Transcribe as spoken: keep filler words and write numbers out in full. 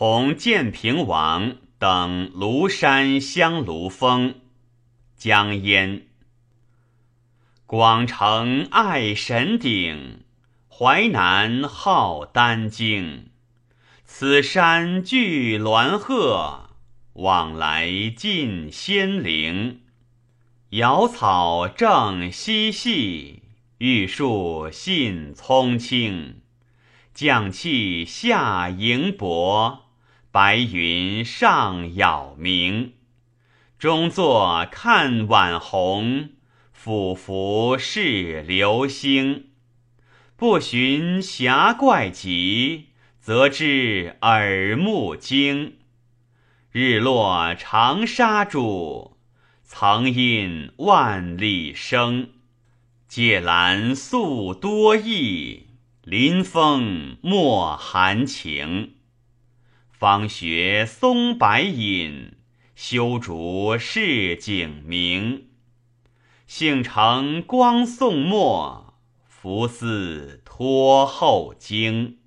同建平王登庐山香炉峰。江淹。广成爱神鼎，淮南好丹经。此山聚鸾鹤，往来尽仙灵。瑶草正嬉戏，玉树信葱青。绛气下迎薄，白云上杳冥。中作看晚红，俯伏视流星。不寻霞怪极，则知耳目惊。日落长沙渚，曾因万里声。芥兰素多异，临风莫含情。方学松柏隐，修竹市景明。幸承光宋末，福似托后经。